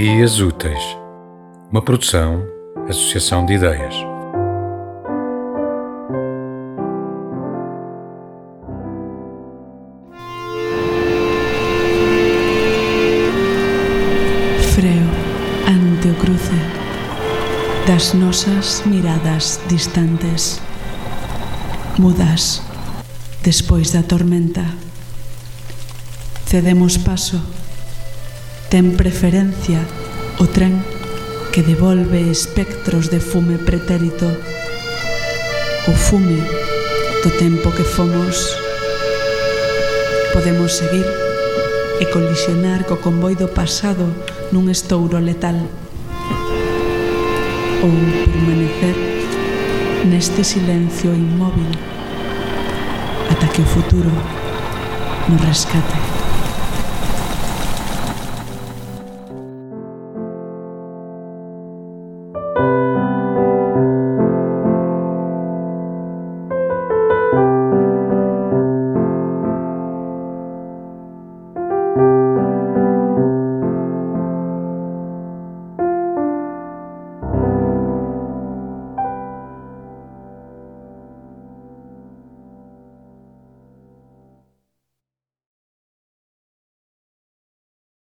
Dias Úteis, uma produção, associação de ideias. Freo ante o cruce das nosas miradas distantes, mudas despois da tormenta. Cedemos paso. Ten preferencia o tren que devolve espectros de fume pretérito, o fume do tempo que fomos. Podemos seguir e colisionar co convoi do pasado nun estouro letal, ou permanecer neste silencio inmóvil ata que o futuro nos rescate.